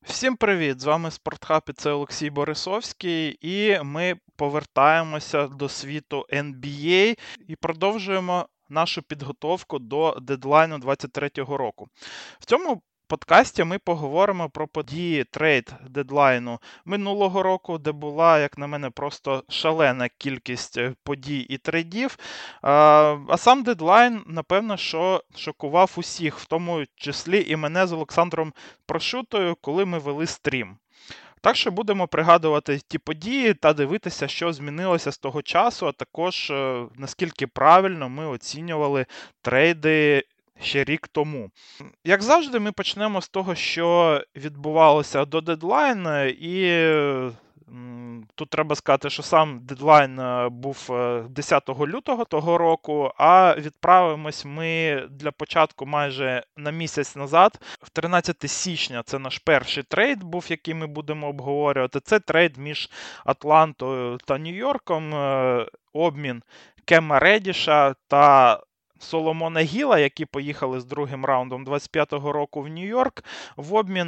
Всім привіт! З вами Спортхаб і це Олексій Борисовський, і ми повертаємося до світу NBA і продовжуємо нашу підготовку до дедлайну 23-го року. В цьому подкасті ми поговоримо про події трейд-дедлайну минулого року, де була, як на мене, просто шалена кількість подій і трейдів. А сам дедлайн, напевно, що шокував усіх, в тому числі і мене з Олександром Прошутою, коли ми вели стрім. Так що будемо пригадувати ті події та дивитися, що змінилося з того часу, а також наскільки правильно ми оцінювали трейди ще рік тому. Як завжди, ми почнемо з того, що відбувалося до дедлайну, і тут треба сказати, що сам дедлайн був 10 лютого того року, а відправимось ми для початку майже на місяць назад. В 13 січня це наш перший трейд був, який ми будемо обговорювати. Це трейд між Атлантою та Нью-Йорком, обмін Кема Редіша та Соломона Гіла, які поїхали з другим раундом 25-го року в Нью-Йорк, в обмін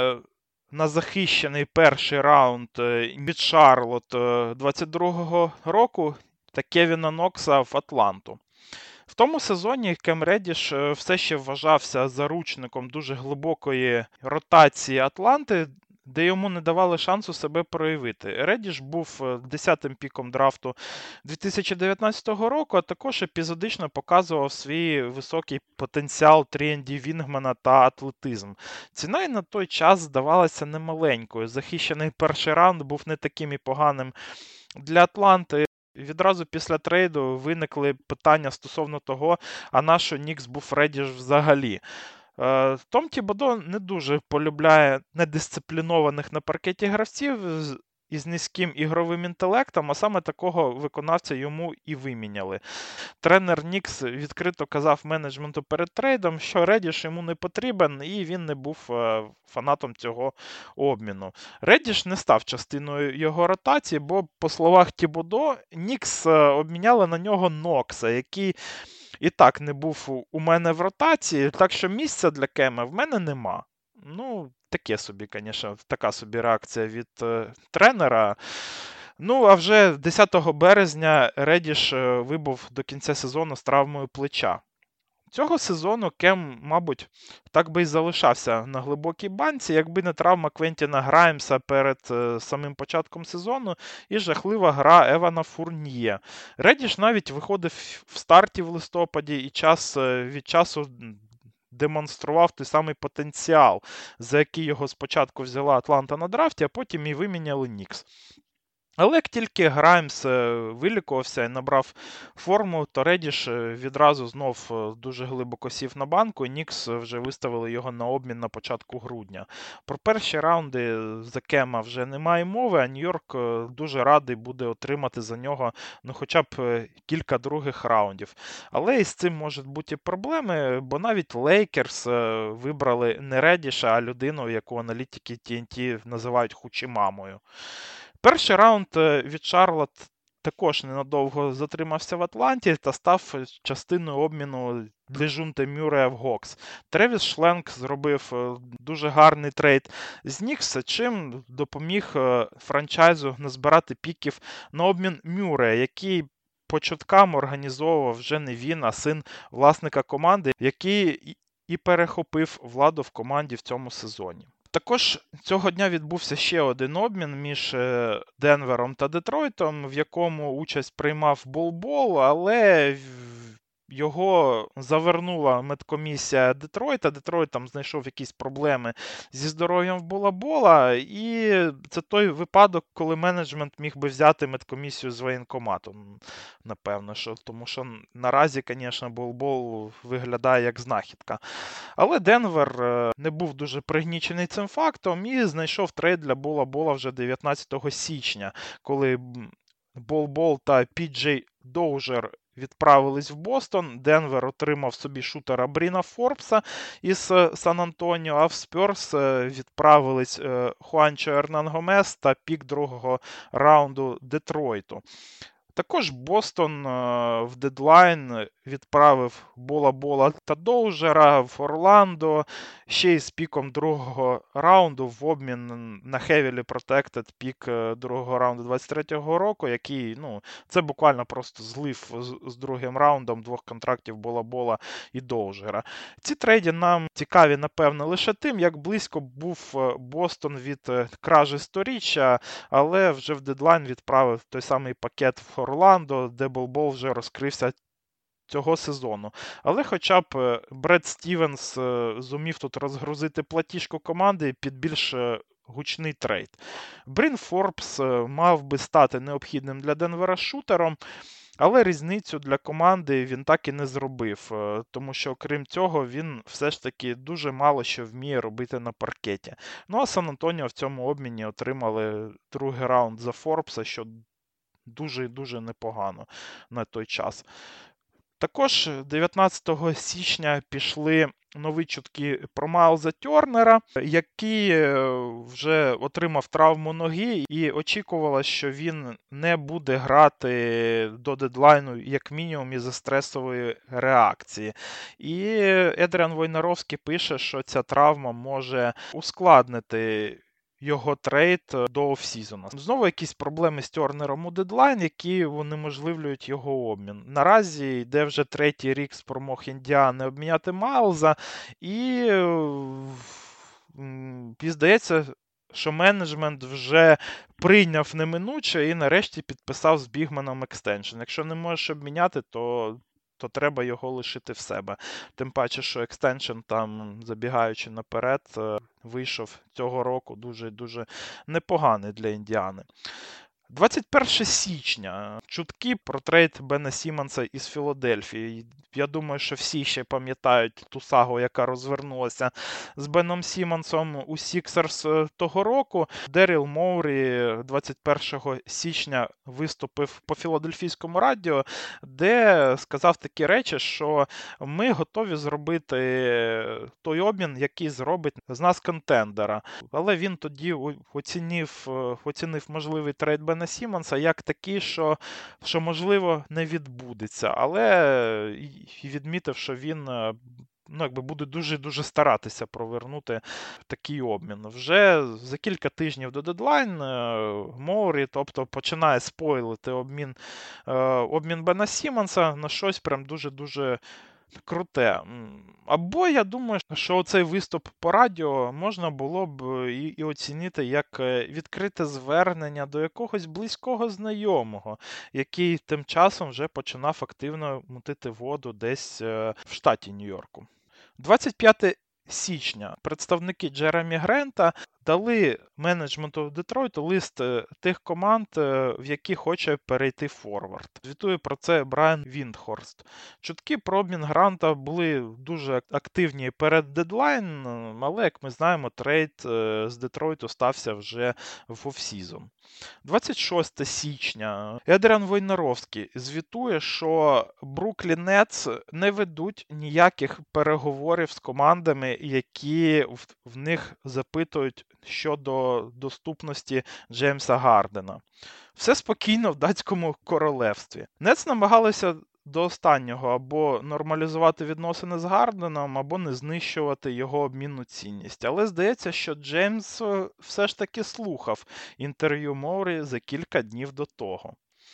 на захищений перший раунд від Шарлот 22-го року та Кевіна Нокса в Атланту. В тому сезоні Кем Редіш все ще вважався заручником дуже глибокої ротації Атланти, де йому не давали шансу себе проявити. Редіш був 10-м піком драфту 2019 року, а також епізодично показував свій високий потенціал 3&D Вінгмана та атлетизм. Ціна й на той час здавалася немаленькою. Захищений перший раунд був не таким і поганим для Атланти. Відразу після трейду виникли питання стосовно того, а на що Нікс був Редіш взагалі. Том Тібодо не дуже полюбляє недисциплінованих на паркеті гравців із низьким ігровим інтелектом, а саме такого виконавця йому і виміняли. Тренер Нікс відкрито казав менеджменту перед трейдом, що Редіш йому не потрібен, і він не був фанатом цього обміну. Редіш не став частиною його ротації, бо, по словах Тібодо, Нікс обміняли на нього Нокса, який і так не був у мене в ротації, так що місця для Кема в мене нема. Ну, таке собі, звісно, така собі реакція від тренера. Ну, а вже 10 березня Редіш вибув до кінця сезону з травмою плеча. Цього сезону Кем, мабуть, так би і залишався на глибокій банці, якби не травма Квентіна Граймса перед самим початком сезону і жахлива гра Евана Фурньє. Редіш навіть виходив в старті в листопаді і час від часу демонстрував той самий потенціал, за який його спочатку взяла Атланта на драфті, а потім і виміняли Нікс. Але як тільки Граймс вилікувався і набрав форму, то Редіш відразу знов дуже глибоко сів на банку, і Нікс вже виставили його на обмін на початку грудня. Про перші раунди за Кема вже немає мови, а Нью-Йорк дуже радий буде отримати за нього хоча б кілька других раундів. Але і з цим можуть бути проблеми, бо навіть Лейкерс вибрали не Редіша, а людину, яку аналітики TNT називають Хучімамою. Перший раунд від Шарлот також ненадовго затримався в Атланті та став частиною обміну Дежунте Мюррея в Гокс. Тревіс Шленк зробив дуже гарний трейд з Нікса, чим допоміг франчайзу назбирати піків на обмін Мюррея, який по чуткам організовував вже не він, а син власника команди, який і перехопив владу в команді в цьому сезоні. Також цього дня відбувся ще один обмін між Денвером та Детройтом, в якому участь приймав Бол-Бол, але його завернула медкомісія Детройта. Детройт там знайшов якісь проблеми зі здоров'ям в Бола-Бола, і це той випадок, коли менеджмент міг би взяти медкомісію з воєнкоматом, напевно, тому що наразі, звісно, Бол-Бол виглядає як знахідка. Але Денвер не був дуже пригнічений цим фактом і знайшов трейд для Бола-Бола вже 19 січня, коли Бол-Бол та Пі-Джей Доужер відправились в Бостон. Денвер отримав собі шутера Бріна Форбса із Сан-Антоніо, а в Спьорс відправились Хуанчо Ернан Гомес та пік другого раунду Детройту. Також Бостон в дедлайн відправив Бола та Доужера в Орландо, ще й з піком другого раунду в обмін на Heavily Protected пік другого раунду 23-го року, який, це буквально просто злив з другим раундом двох контрактів Бола і Доужера. Ці трейди нам цікаві, напевно, лише тим, як близько був Бостон від кражі сторіччя, але вже в дедлайн відправив той самий пакет в Орландо, де Бол вже розкрився цього сезону. Але хоча б Бред Стівенс зумів тут розгрузити платіжку команди під більш гучний трейд. Брін Форбс мав би стати необхідним для Денвера шутером, але різницю для команди він так і не зробив, тому що, окрім цього, він все ж таки дуже мало що вміє робити на паркеті. Ну а Сан-Антоніо в цьому обміні отримали другий раунд за Форбса, що дуже і дуже непогано на той час. Також 19 січня пішли нові чутки про Майлза Тернера, який вже отримав травму ноги і очікувало, що він не буде грати до дедлайну як мінімум із-за стресової реакції. І Едріан Войнаровський пише, що ця травма може ускладнити його трейд до офсізону. Знову якісь проблеми з Тернером у дедлайн, які унеможливлюють його обмін. Наразі йде вже третій рік спромог Індіани обміняти Майлза, і здається, що менеджмент вже прийняв неминуче і нарешті підписав з бігменом екстеншн. Якщо не можеш обміняти, то треба його лишити в себе. Тим паче, що екстеншн там, забігаючи наперед, вийшов цього року дуже-дуже непоганий для Індіани. 21 січня. Чутки про трейд Бена Сіммонса із Філадельфії. Я думаю, що всі ще пам'ятають ту сагу, яка розвернулася з Беном Сіммонсом у Сіксерс того року. Деріл Моурі 21 січня виступив по філадельфійському радіо, де сказав такі речі, що ми готові зробити той обмін, який зробить з нас контендера. Але він тоді оцінив можливий трейд Бена Сіммонса як такий, що можливо, не відбудеться. Але і відмітив, що він буде дуже-дуже старатися провернути такий обмін. Вже за кілька тижнів до дедлайн Моурі, тобто, починає спойлити обмін Бена Сіммонса на щось прям дуже-дуже круте. Або я думаю, що цей виступ по радіо можна було б і оцінити як відкрите звернення до якогось близького знайомого, який тим часом вже починав активно мутити воду десь в штаті Нью-Йорку. 25 січня представники Джеремі Грента дали менеджменту Детройту лист тих команд, в які хоче перейти форвард. Звітує про це Брайан Віндхорст. Чутки про обмін Гранта були дуже активні перед дедлайн, але, як ми знаємо, трейд з Детройту стався вже в офсізон. 26 січня. Едріан Войнаровський звітує, що Бруклін Нетс не ведуть ніяких переговорів з командами, які в них запитують щодо доступності Джеймса Гардена. Все спокійно в датському королевстві. Нетс намагалися до останнього або нормалізувати відносини з Гарденом, або не знищувати його обмінну цінність. Але здається, що Джеймс все ж таки слухав інтерв'ю Моурі за кілька днів до того.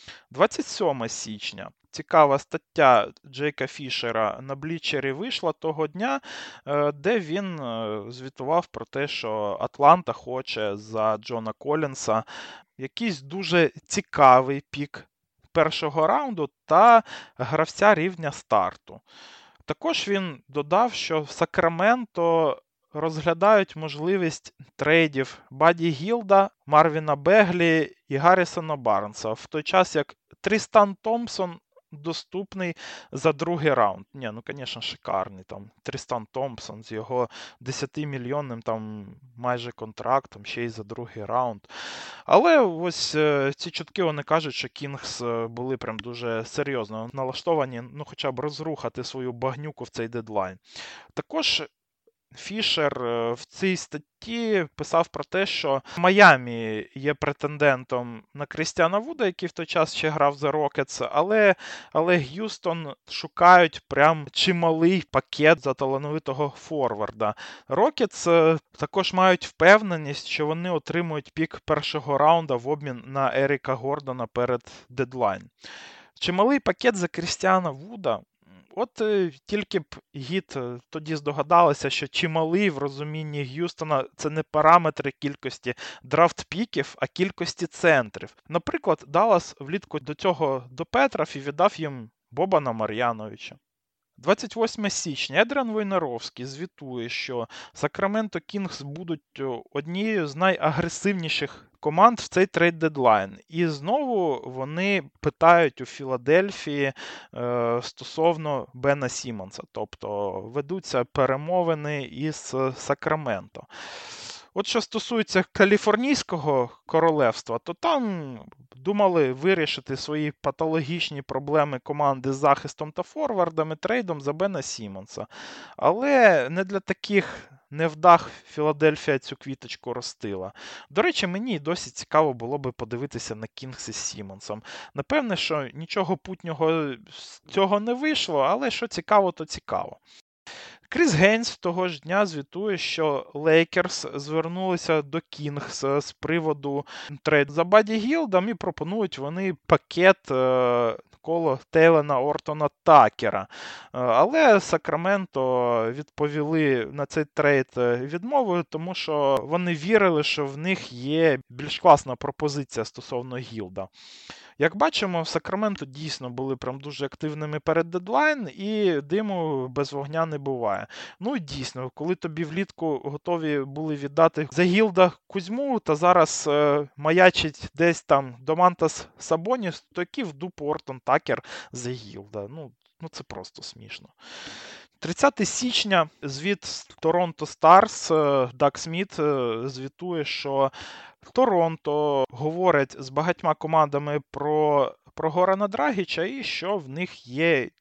27 січня. Цікава стаття Джейка Фішера на Блічері вийшла того дня, де він звітував про те, що Атланта хоче за Джона Колінса якийсь дуже цікавий пік першого раунду та гравця рівня старту. Також він додав, що в Сакраменто розглядають можливість трейдів Баді Гілда, Марвіна Беглі і Гаррісона Барнса, в той час як Трістан Томпсон доступний за другий раунд. Звісно, шикарний. Трістан Томпсон з його 10-мільйонним майже контрактом, ще й за другий раунд. Але ось ці чутки, вони кажуть, що Кінгс були прям дуже серйозно налаштовані, хоча б розрухати свою багнюку в цей дедлайн. Також Фішер в цій статті писав про те, що Майамі є претендентом на Крістіана Вуда, який в той час ще грав за Рокетс, але Г'юстон шукають прям чималий пакет за талановитого форварда. Рокетс також мають впевненість, що вони отримують пік першого раунда в обмін на Еріка Гордона перед дедлайн. Чималий пакет за Крістіана Вуда. От тільки б Гіт тоді здогадалися, що чималий в розумінні Г'юстона – це не параметри кількості драфт-піків, а кількості центрів. Наприклад, Даллас влітку до цього допетрав і віддав їм Бобана Мар'яновича. 28 січня Едріан Войнаровський звітує, що Сакраменто Кінгс будуть однією з найагресивніших команд в цей трейд-дедлайн. І знову вони питають у Філадельфії стосовно Бена Сіммонса, тобто ведуться перемовини із Сакраменто. От що стосується Каліфорнійського королевства, то там думали вирішити свої патологічні проблеми команди з захистом та форвардами трейдом за Бена Сіммонса. Але не для таких невдах Філадельфія цю квіточку ростила. До речі, мені досі цікаво було би подивитися на Кінгс із Сіммонсом. Напевне, що нічого путнього з цього не вийшло, але що цікаво, то цікаво. Кріс Гейнс того ж дня звітує, що Лейкерс звернулися до Кінгс з приводу трейду за Баді Гілдом і пропонують вони пакет коло Тейлена Ортона Такера. Але Сакраменто відповіли на цей трейд відмовою, тому що вони вірили, що в них є більш класна пропозиція стосовно Гілда. Як бачимо, в Сакраменто дійсно були прям дуже активними перед дедлайн, і диму без вогня не буває. Ну і дійсно, коли тобі влітку готові були віддати за Гілда Кузьму, та зараз маячить десь там Домантас Сабоніс, то який в дупу Ортон Такер за Гілда. Ну це просто смішно. 30 січня звіт Торонто Старс, Даг Сміт звітує, що Торонто говорить з багатьма командами про Горана Драгіча і що в них є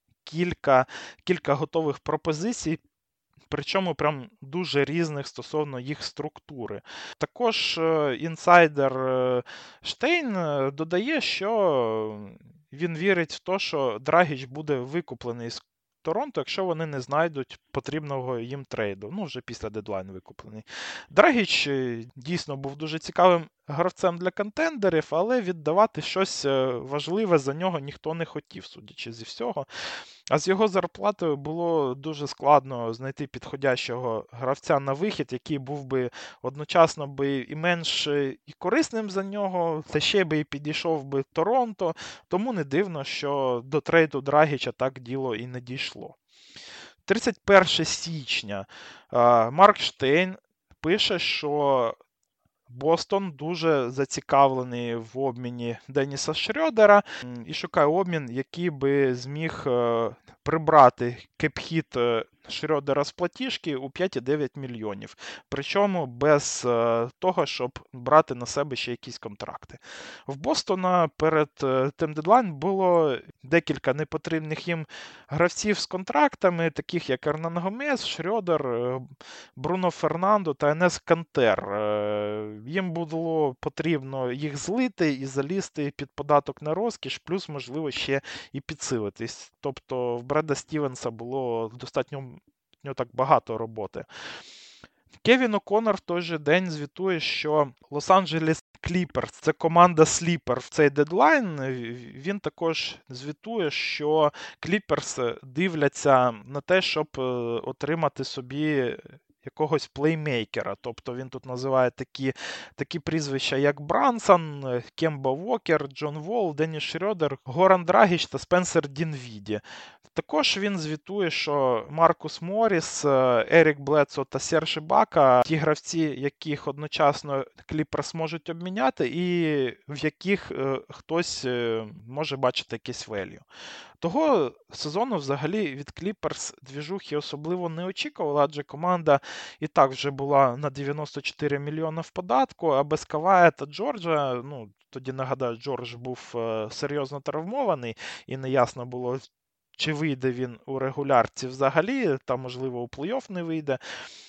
кілька готових пропозицій, причому прям дуже різних стосовно їх структури. Також інсайдер Штейн додає, що він вірить в те, що Драгіч буде викуплений з Торонто, якщо вони не знайдуть потрібного їм трейду. Ну, вже після дедлайну викуплений. Драгіч дійсно був дуже цікавим гравцем для контендерів, але віддавати щось важливе за нього ніхто не хотів, судячи зі всього. А з його зарплатою було дуже складно знайти підходящого гравця на вихід, який був би одночасно би і менш і корисним за нього, та ще би і підійшов би Торонто. Тому не дивно, що до трейду Драгіча так діло і не дійшло. 31 січня Марк Штейн пише, що Бостон дуже зацікавлений в обміні Деніса Шрьодера і шукає обмін, який би зміг прибрати кеп-хіт Шрьодера з платіжки у 5,9 мільйонів. Причому без того, щоб брати на себе ще якісь контракти. В Бостона перед тим дедлайн було декілька непотрібних їм гравців з контрактами, таких як Ернан Гомес, Шрьодер, Бруно Фернандо та Енес Кантер. Їм було потрібно їх злити і залізти під податок на розкіш, плюс, можливо, ще і підсилитись. Тобто в Бреда Стівенса було достатньо так багато роботи. Кевін О'Коннор в той же день звітує, що Лос-Анджелес Кліперс – це команда сліпер в цей дедлайн. Він також звітує, що Кліперс дивляться на те, щоб отримати собі якогось плеймейкера. Тобто він тут називає такі прізвища, як Брансон, Кемба Вокер, Джон Волл, Денніс Шрьодер, Горан Драгіч та Спенсер Дінвіді. Також він звітує, що Маркус Морріс, Ерік Бледсо та Серж Ібака – ті гравці, яких одночасно Кліперс можуть обміняти і в яких хтось може бачити якийсь велью. Того сезону взагалі від Кліперс двіжухи особливо не очікувала, адже команда і так вже була на 94 мільйони в податку, а без Кавая та Джорджа, тоді нагадаю, Джордж був серйозно травмований і неясно було, чи вийде він у регулярці взагалі, та, можливо, у плей-офф не вийде.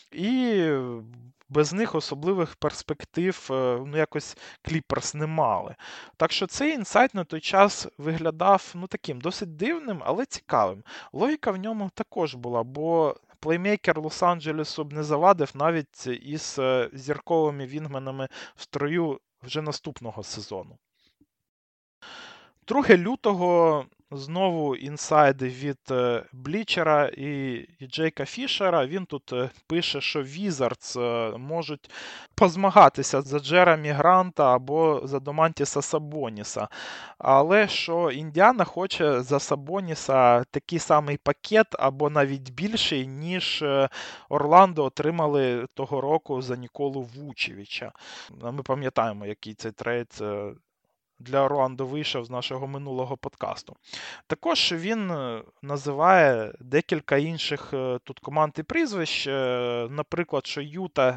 І без них особливих перспектив якось Кліперс не мали. Так що цей інсайт на той час виглядав таким досить дивним, але цікавим. Логіка в ньому також була, бо плеймейкер Лос-Анджелесу б не завадив навіть із зірковими вінгменами в строю вже наступного сезону. 2 лютого знову інсайди від Блічера і Джейка Фішера. Він тут пише, що Візардс можуть позмагатися за Джеремі Гранта або за Домантіса Сабоніса. Але що Індіана хоче за Сабоніса такий самий пакет або навіть більший, ніж Орландо отримали того року за Ніколу Вучевича. Ми пам'ятаємо, який цей трейд для Орландо вийшов з нашого минулого подкасту. Також він називає декілька інших тут команд і прізвищ. Наприклад, що Юта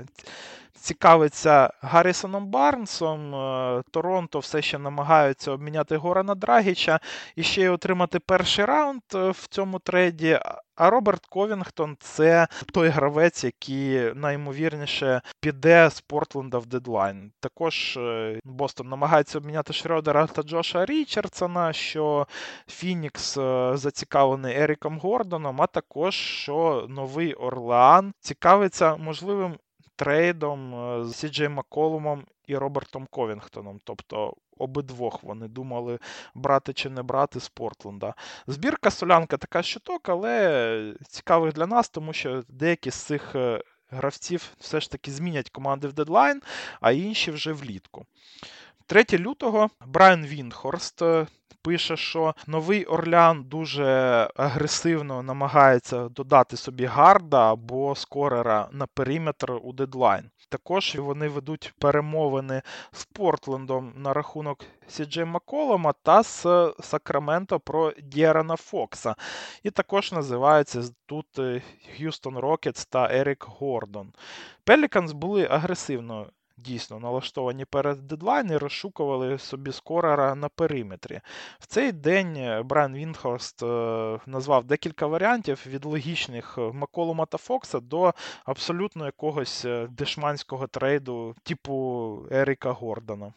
цікавиться Гаррісоном Барнсом, Торонто все ще намагаються обміняти Горана Драгіча і ще й отримати перший раунд в цьому трейді. А Роберт Ковінгтон – це той гравець, який найімовірніше піде з Портленда в дедлайн. Також Бостон намагається обміняти Шрёдера та Джоша Річардсона, що Фінікс зацікавлений Еріком Гордоном, а також що Новий Орлеан цікавиться можливим трейдом з Сі-Джей Макколумом і Робертом Ковінгтоном. Тобто обидвох вони думали, брати чи не брати з Портленда. Збірка солянка така щоток, але цікавих для нас, тому що деякі з цих гравців все ж таки змінять команди в дедлайн, а інші вже влітку. 3 лютого Брайан Віндхорст пише, що Новий Орлеан дуже агресивно намагається додати собі гарда або скорера на периметр у дедлайн. Також вони ведуть перемовини з Портлендом на рахунок Сі-Джей Макколума та з Сакраменто про Д'Ерона Фокса. І також називаються тут Х'юстон Рокетс та Ерік Гордон. Пеліканс були агресивно дійсно налаштовані перед дедлайн і розшукували собі скорера на периметрі. В цей день Брайан Віндхорст назвав декілька варіантів від логічних Макколума та Фокса до абсолютно якогось дешманського трейду типу Еріка Гордона.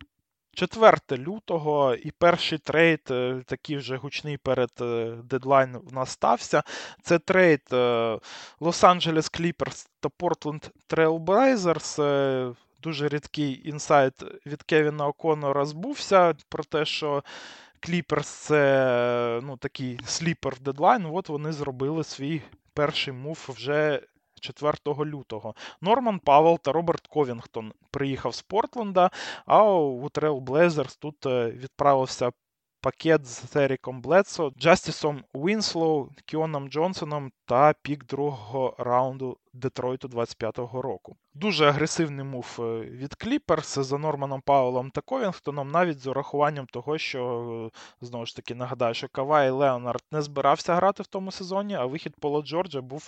4 лютого і перший трейд, такий вже гучний перед дедлайн в нас стався. Це трейд Лос-Анджелес Кліперс та Портленд Трейл Блейзерс. Дуже рідкий інсайт від Кевіна О'Коннора збувся про те, що Кліперс це такий сліпер в дедлайн. От вони зробили свій перший мув вже 4 лютого. Норман Павел та Роберт Ковінгтон приїхав з Портленда, а у Трейл Блейзерс тут відправився пакет з Еріком Бледсо, Джастісом Уінслоу, Кіоном Джонсоном та пік другого раунду Детройту 25-го року. Дуже агресивний мув від Кліперс за Норманом Пауелом та Ковінгтоном, навіть з урахуванням того, що, знову ж таки, нагадаю, що Кавай Леонард не збирався грати в тому сезоні, а вихід Пола Джорджа був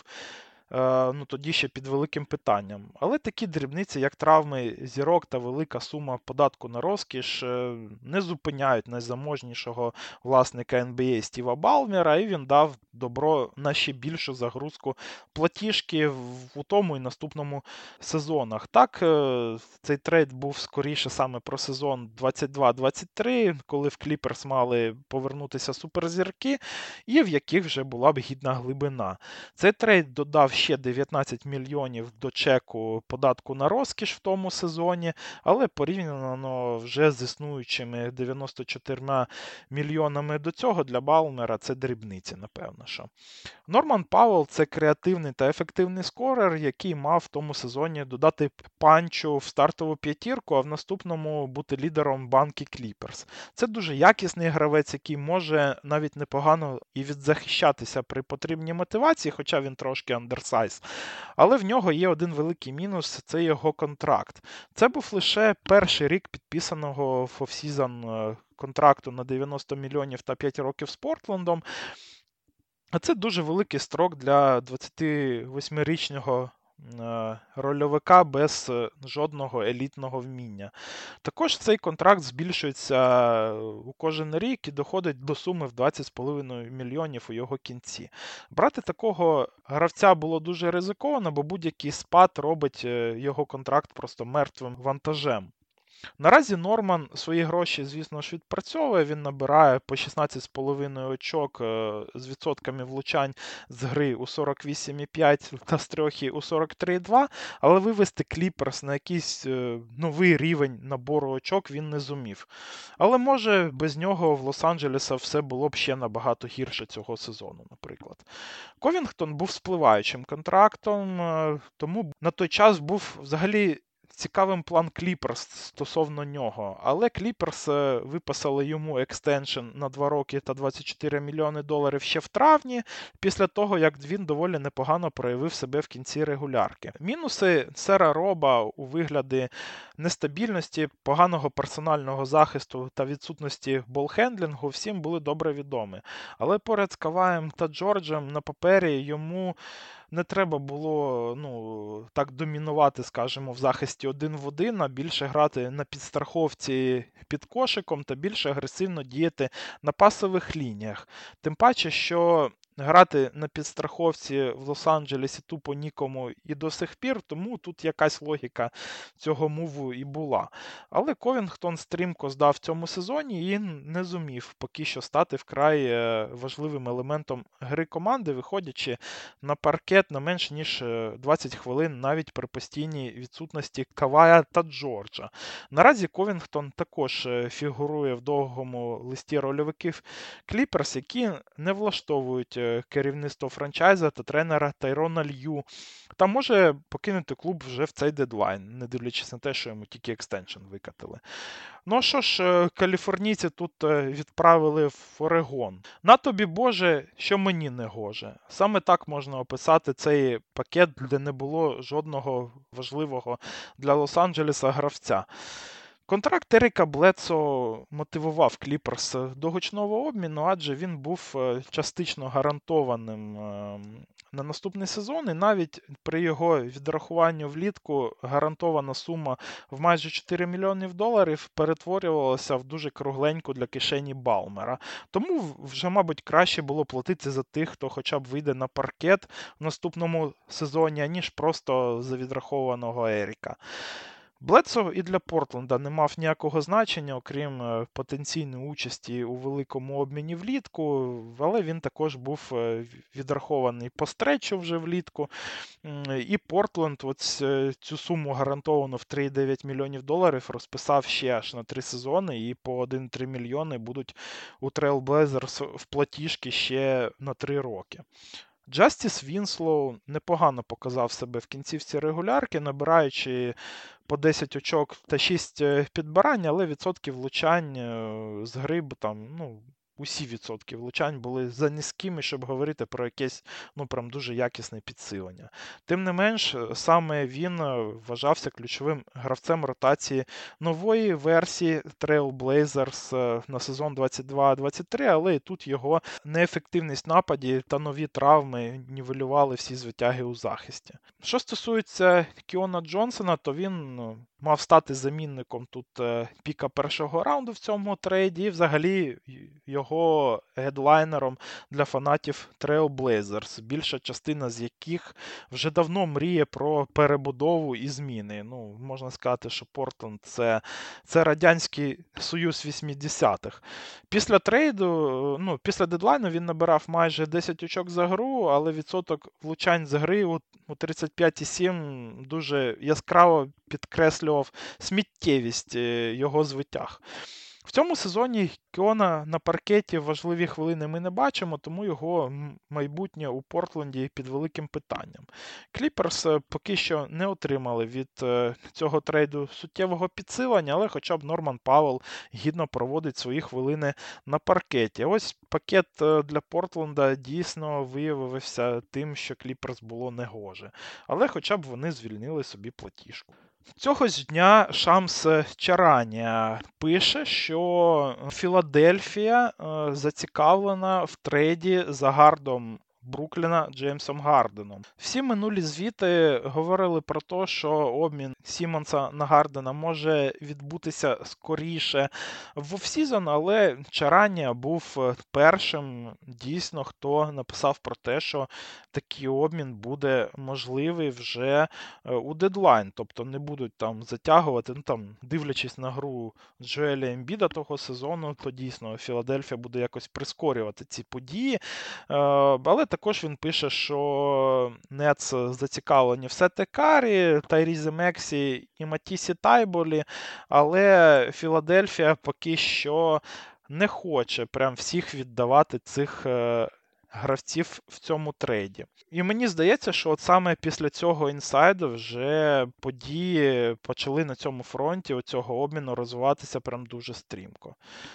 тоді ще під великим питанням. Але такі дрібниці, як травми зірок та велика сума податку на розкіш, не зупиняють найзаможнішого власника NBA Стіва Балмера, і він дав добро на ще більшу загрузку платіжки у тому і наступному сезонах. Так, цей трейд був скоріше саме про сезон 22-23, коли в Кліперс мали повернутися суперзірки, і в яких вже була б гідна глибина. Цей трейд додав ще 19 мільйонів до чеку податку на розкіш в тому сезоні, але порівняно вже з існуючими 94 мільйонами до цього для Балмера це дрібниці, напевно. Що. Норман Пауел – це креативний та ефективний скорер, який мав в тому сезоні додати панчу в стартову п'ятірку, а в наступному бути лідером банки Кліперс. Це дуже якісний гравець, який може навіть непогано і відзахищатися при потрібній мотивації, хоча він трошки андерсайз. Але в нього є один великий мінус – це його контракт. Це був лише перший рік підписаного в офсізон контракту на 90 мільйонів та 5 років з Портлендом. А це дуже великий строк для 28-річного рольовика без жодного елітного вміння. Також цей контракт збільшується у кожен рік і доходить до суми в 20,5 мільйонів у його кінці. Брати такого гравця було дуже ризиковано, бо будь-який спад робить його контракт просто мертвим вантажем. Наразі Норман свої гроші, звісно ж, відпрацьовує, він набирає по 16,5 очок з відсотками влучань з гри у 48,5 та з трьохи у 43,2, але вивести Кліперс на якийсь новий рівень набору очок він не зумів. Але може без нього в Лос-Анджелеса все було б ще набагато гірше цього сезону, наприклад. Ковінгтон був спливаючим контрактом, тому на той час був взагалі цікавим план Кліперс стосовно нього, але Кліперс виписали йому екстеншн на 2 роки та 24 мільйони доларів ще в травні, після того, як він доволі непогано проявив себе в кінці регулярки. Мінуси сера Роба у вигляді нестабільності, поганого персонального захисту та відсутності болхендлінгу всім були добре відомі. Але поряд з Каваєм та Джорджем на папері йому не треба було так домінувати, скажімо, в захисті 1 в 1, а більше грати на підстраховці під кошиком та більше агресивно діяти на пасових лініях. Тим паче, що грати на підстраховці в Лос-Анджелесі тупо нікому і до сих пір, тому тут якась логіка цього муву і була. Але Ковінгтон стрімко здав в цьому сезоні і не зумів поки що стати вкрай важливим елементом гри команди, виходячи на паркет на менш ніж 20 хвилин навіть при постійній відсутності Кавая та Джорджа. Наразі Ковінгтон також фігурує в довгому листі рольовиків Кліперс, які не влаштовують керівництво франчайза та тренера Тайрона Лью, та може покинути клуб вже в цей дедлайн, не дивлячись на те, що йому тільки екстеншн викатили. Ну що ж, каліфорнійці тут відправили в Орегон. На тобі, Боже, що мені не гоже. Саме так можна описати цей пакет, де не було жодного важливого для Лос-Анджелеса гравця. Контракт Еріка Бледсо мотивував Кліперс до гучного обміну, адже він був частично гарантованим на наступний сезон, і навіть при його відрахуванні влітку гарантована сума в майже 4 мільйонів доларів перетворювалася в дуже кругленьку для кишені Балмера. Тому вже, мабуть, краще було платити за тих, хто хоча б вийде на паркет в наступному сезоні, аніж просто за відрахованого Еріка. Бледсо і для Портленда не мав ніякого значення, окрім потенційної участі у великому обміні влітку, але він також був відрахований по стречу вже влітку. І Портленд цю суму гарантовану в 3,9 мільйонів доларів розписав ще аж на 3 сезони, і по 1,3 мільйони будуть у Trail Blazers в платіжки ще на 3 роки. Джастіс Вінслоу непогано показав себе в кінцівці регулярки, набираючи по 10 очок та 6 підбирань, але відсотки влучань з гри усі відсотки влучань були за низькими, щоб говорити про якесь прям дуже якісне підсилення. Тим не менш, саме він вважався ключовим гравцем ротації нової версії Trail Blazers на сезон 22-23, але і тут його неефективність нападі та нові травми нівелювали всі звитяги у захисті. Що стосується Кіона Джонсона, то він мав стати замінником тут піка першого раунду в цьому трейді і взагалі його гедлайнером для фанатів Trail Blazers, більша частина з яких вже давно мріє про перебудову і зміни. Можна сказати, що Портленд – це Радянський Союз 80-х. Після трейду, після дедлайну він набирав майже 10 очок за гру, але відсоток влучань з гри у 35,7 дуже яскраво підкреслював сміттєвість його звитяг. В цьому сезоні Кіона на паркеті важливі хвилини ми не бачимо, тому його майбутнє у Портленді під великим питанням. Кліперс поки що не отримали від цього трейду суттєвого підсилення, але хоча б Норман Пауелл гідно проводить свої хвилини на паркеті. Ось пакет для Портленда дійсно виявився тим, що Кліперс було негоже. Але хоча б вони звільнили собі платіжку. Цього ж дня Шамс Чаранія пише, що Філадельфія зацікавлена в трейді за гардом Брукліна Джеймсом Гарденом. Всі минулі звіти говорили про те, що обмін Сімонса на Гардена може відбутися скоріше в офсізон, але Чаранія був першим, дійсно, хто написав про те, що такий обмін буде можливий вже у дедлайн, тобто не будуть там затягувати, дивлячись на гру Джоеля Ембіда того сезону, то дійсно Філадельфія буде якось прискорювати ці події. Але також він пише, що Нетс зацікавлені в Сете Карі, Тайрізі Мексі і Матісі Тайболі, але Філадельфія поки що не хоче прям всіх віддавати цих гравців в цьому трейді. І мені здається, що от саме після цього інсайду вже події почали на цьому фронті у цього обміну розвиватися прям дуже стрімко.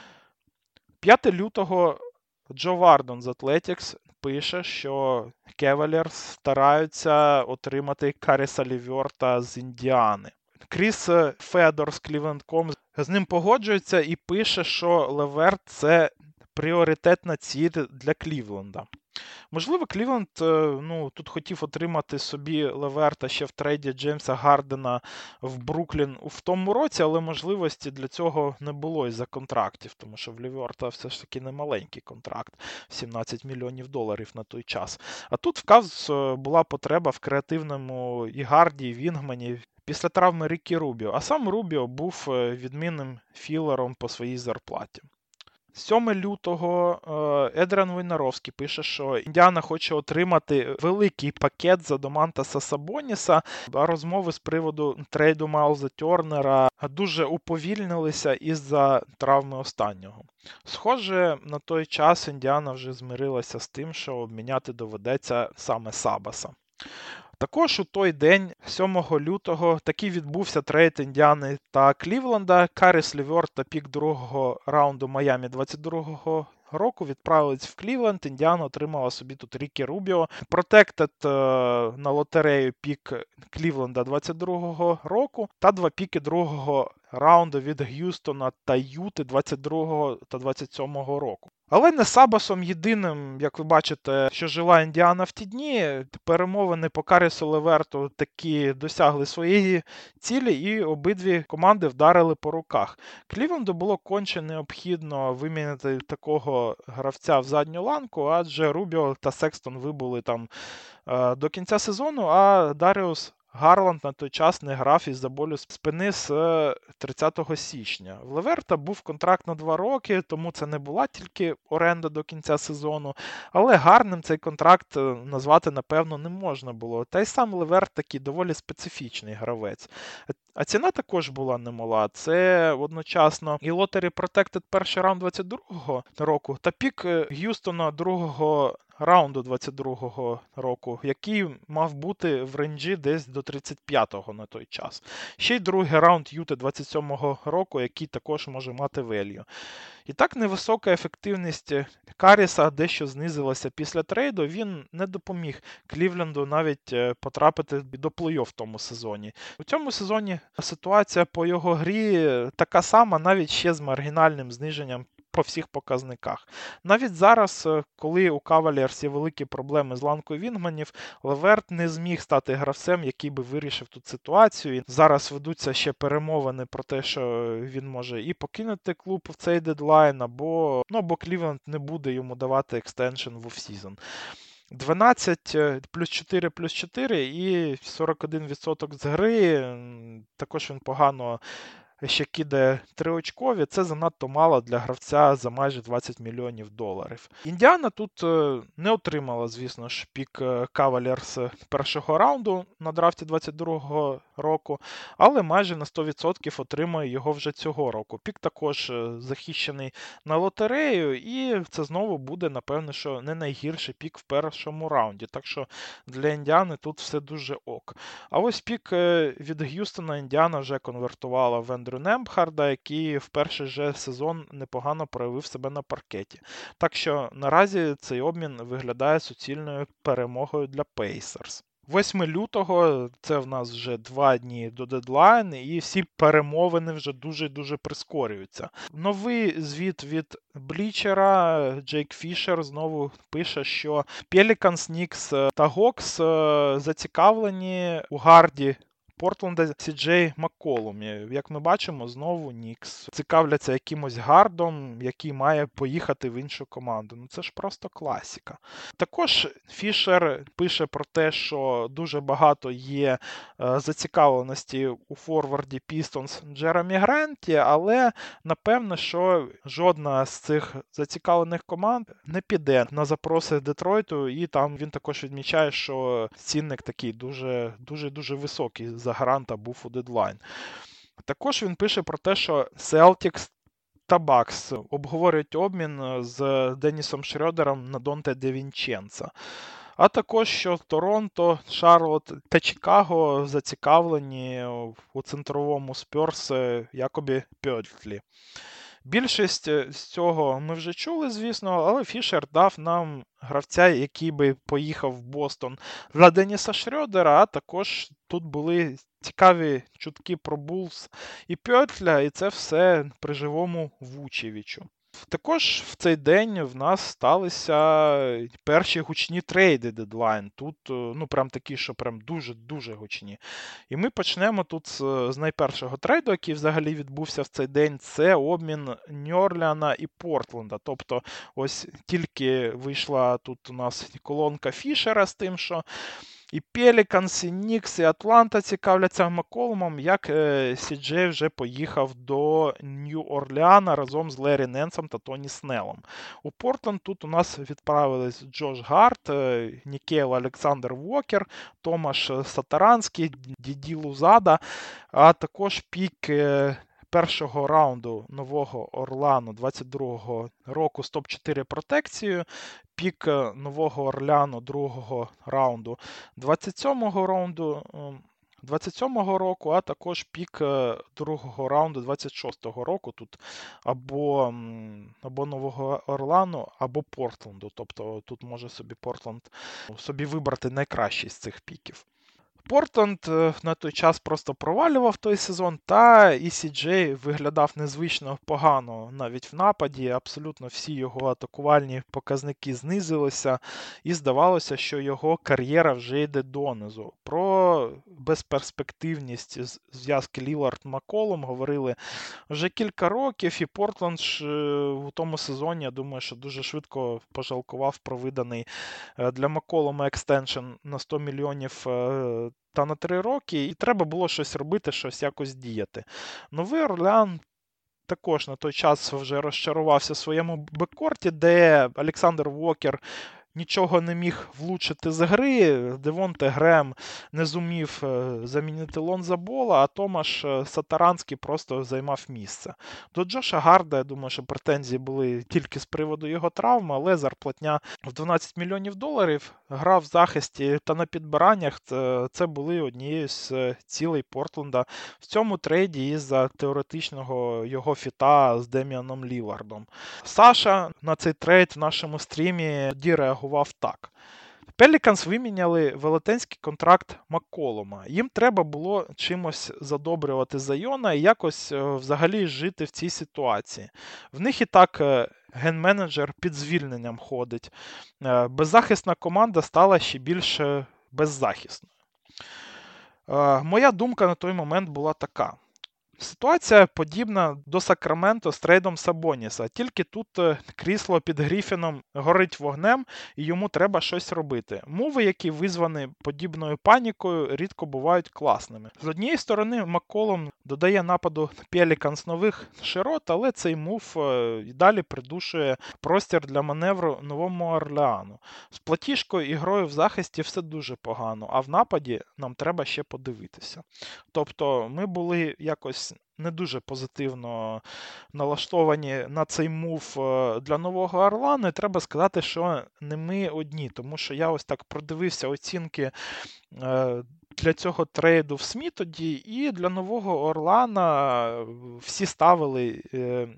5 лютого Джо Вардон з Athletics пише, що Cavaliers стараються отримати Каріса Леверта з Індіани. Кріс Федор з Cleveland.com з ним погоджується і пише, що Леверт – це пріоритетна ціль для Клівленда. Можливо, Клівленд тут хотів отримати собі Леверта ще в трейді Джеймса Гардена в Бруклін в тому році, але можливості для цього не було із-за контрактів, тому що в Леверта все ж таки не маленький контракт, $17 мільйонів на той час. А тут в Кавс була потреба в креативному і гарді, і вінгмені після травми Рікі Рубіо, а сам Рубіо був відмінним філером по своїй зарплаті. 7 лютого Едріан Войнаровський пише, що Індіана хоче отримати великий пакет за Домантаса Сабоніса, а розмови з приводу трейду Майлза Тернера дуже уповільнилися із-за травми останнього. Схоже, на той час Індіана вже змирилася з тим, що обміняти доведеться саме Сабаса. Також у той день, 7 лютого, таки відбувся трейд Індіани та Клівленда. Каріс Леверт та пік другого раунду Майамі 22-го року відправились в Клівленд. Індіана отримала собі тут Рікі Рубіо. Протектед на лотерею пік Клівленда 22-го року та 2 піки другого раунду від Г'юстона та Юти 22-го та 27-го року. Але не Сабасом єдиним, як ви бачите, що жила Індіана в ті дні. Перемовини по Карісу Леверту таки досягли своєї цілі і обидві команди вдарили по руках. Клівленду було конче необхідно вимінити такого гравця в задню ланку, адже Рубіо та Секстон вибули там до кінця сезону, а Даріус Гарланд на той час не грав із-за болю спини з 30 січня. В Леверта був контракт на 2 роки, тому це не була тільки оренда до кінця сезону, але гарним цей контракт назвати, напевно, не можна було. Та й сам Леверт такий доволі специфічний гравець. А ціна також була немала. Це одночасно і Lottery Protected перший раунд 22-го року та пік Г'юстона другого раунду 22-го року, який мав бути в рейнджі десь до 35-го на той час. Ще й другий раунд Юти 27-го року, який також може мати велью. І так невисока ефективність Каріса дещо знизилася після трейду, він не допоміг Клівленду навіть потрапити до плей-офф в тому сезоні. У цьому сезоні ситуація по його грі така сама, навіть ще з маргінальним зниженням по всіх показниках. Навіть зараз, коли у Cavaliers є великі проблеми з ланкою вінгманів, Леверт не зміг стати гравцем, який би вирішив тут ситуацію. І зараз ведуться ще перемовини про те, що він може і покинути клуб в цей дедлайн, або Клівленд не буде йому давати екстеншн в офсізон. 12 плюс 4 плюс 4 і 41% з гри. Також він погано ще кидає 3-очкові, це занадто мало для гравця за майже $20 мільйонів. Індіана тут не отримала, звісно ж, пік Cavaliers першого раунду на драфті 22-го року, але майже на 100% отримає його вже цього року. Пік також захищений на лотерею, і це знову буде, напевно, що не найгірший пік в першому раунді. Так що для Індіани тут все дуже ок. А ось пік від Г'юстона Індіана вже конвертувала в Ендрю Нембхарда, який в перший же сезон непогано проявив себе на паркеті. Так що наразі цей обмін виглядає суцільною перемогою для Pacers. 8 лютого, це в нас вже 2 дні до дедлайну, і всі перемовини вже дуже-дуже прискорюються. Новий звіт від Блічера, Джейк Фішер знову пише, що Pelicans, Knicks та Hawks зацікавлені у гарді Портленда Сі-Джей Макколумі. Як ми бачимо, знову Нікс цікавляться якимось гардом, який має поїхати в іншу команду. Ну це ж просто класіка. Також Фішер пише про те, що дуже багато є зацікавленості у форварді Pistons Джеремі Гранті, але напевно, що жодна з цих зацікавлених команд не піде на запроси Детройту, і там він також відмічає, що цінник такий дуже високий за Гранта був у дедлайн. Також він пише про те, що Celtics та Бакс обговорюють обмін з Деннісом Шрёдером на Донте Де Вінченца. А також, що Торонто, Шарлотт та Чикаго зацікавлені у центровому Спьорс Якобі Пьотлі. Більшість з цього ми вже чули, звісно, але Фішер дав нам гравця, який би поїхав в Бостон для Деніса Шрёдера, а також тут були цікаві чутки про Булс і Пьотля, і це все при живому Вучевичу. Також в цей день в нас сталися перші гучні трейди дедлайн. Тут, прям такі, що прям дуже гучні. І ми почнемо тут з найпершого трейду, який взагалі відбувся в цей день. Це обмін Нью-Орлеана і Портленда. Тобто, ось тільки вийшла тут у нас колонка Фішера з тим, що і Пеліканс, і Нікс, і Атланта цікавляться Макколумом, як Сі-Джей вже поїхав до Нью-Орлеана разом з Лері Ненсом та Тоні Снеллом. У Портленд тут у нас відправились Джош Гарт, Нікейл Олександр Вокер, Томаш Сатаранський, Діді Лузада, а також пік першого раунду Нового Орлеану 22-го року з топ-4 протекцією, пік Нового Орлеану другого раунду 27-го року, а також пік другого раунду 26-го року. Тут або Нового Орлеану, або Портленду. Тобто тут може собі Портленд вибрати найкращий з цих піків. Портленд на той час просто провалював той сезон, та і Сі-Джей виглядав незвично погано навіть в нападі. Абсолютно всі його атакувальні показники знизилися, і здавалося, що його кар'єра вже йде донизу. Про безперспективність зв'язки Лілард-Макколум говорили вже кілька років, і Портленд у тому сезоні, я думаю, що дуже швидко пожалкував про виданий для Макколума екстеншн на 100 мільйонів та на 3 роки, і треба було щось робити, щось якось діяти. Новий Орлеан також на той час вже розчарувався в своєму беккорті, де Олександр Вокер нічого не міг влучити з гри, Девонте Грем не зумів замінити Лонза Бола, а Томаш Сатаранський просто займав місце. До Джоша Гарда, я думаю, що претензії були тільки з приводу його травми, але зарплатня в $12 мільйонів, гра в захисті та на підбираннях це були однією з цілей Портленда в цьому трейді із-за теоретичного його фіта з Деміаном Лілардом. Саша на цей трейд в нашому стрімі реагував так. Пеліканс виміняли велетенський контракт Макколума. Їм треба було чимось задобрювати Зайона і якось взагалі жити в цій ситуації. В них і так ген-менеджер під звільненням ходить. Беззахисна команда стала ще більш беззахисною. Моя думка на той момент була така. Ситуація подібна до Сакраменто з трейдом Сабоніса, тільки тут крісло під Гріфіном горить вогнем і йому треба щось робити. Муви, які визвані подібною панікою, рідко бувають класними. З однієї сторони, Макколум додає нападу Пеліканс нових широт, але цей мув і далі придушує простір для маневру Новому Орлеану. З платіжкою і грою в захисті все дуже погано, а в нападі нам треба ще подивитися. Тобто ми були якось не дуже позитивно налаштовані на цей мув для Нового Орлеану, і треба сказати, що не ми одні, тому що я ось так продивився оцінки для цього трейду в СМІ тоді, і для Нового Орлеана всі ставили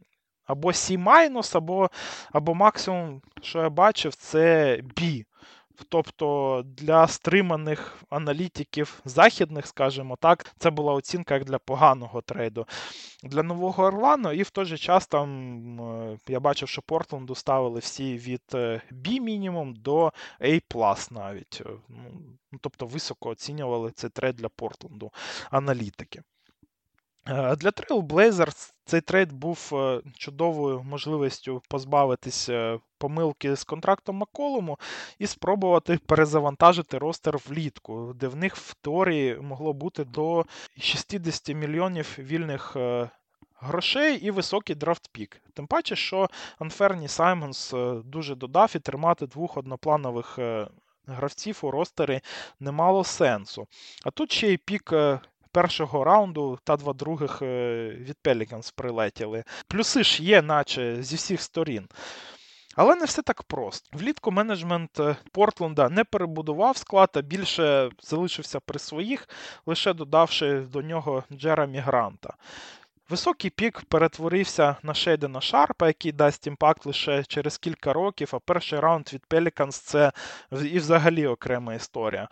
або C-, або максимум, що я бачив, це B. Тобто для стриманих аналітиків західних, скажімо так, це була оцінка як для поганого трейду. Для Нового Орлану, і в той же час там я бачив, що Портленду ставили всі від B мінімум до A+ навіть. Тобто високо оцінювали цей трейд для Портленду аналітики. Для Trail Blazers цей трейд був чудовою можливістю позбавитись помилки з контрактом Макколуму і спробувати перезавантажити ростер влітку, де в них в теорії могло бути до 60 мільйонів вільних грошей і високий драфт-пік. Тим паче, що Анферні Саймонс дуже додав, і тримати двох однопланових гравців у ростері не мало сенсу. А тут ще й пік першого раунду та 2 других від Pelicans прилетіли. Плюси ж є, наче зі всіх сторін. Але не все так просто. Влітку менеджмент Портленда не перебудував склад, а більше залишився при своїх, лише додавши до нього Джеремі Гранта. Високий пік перетворився на Шейдена Шарпа, який дасть імпакт лише через кілька років, а перший раунд від Pelicans – це і взагалі окрема історія.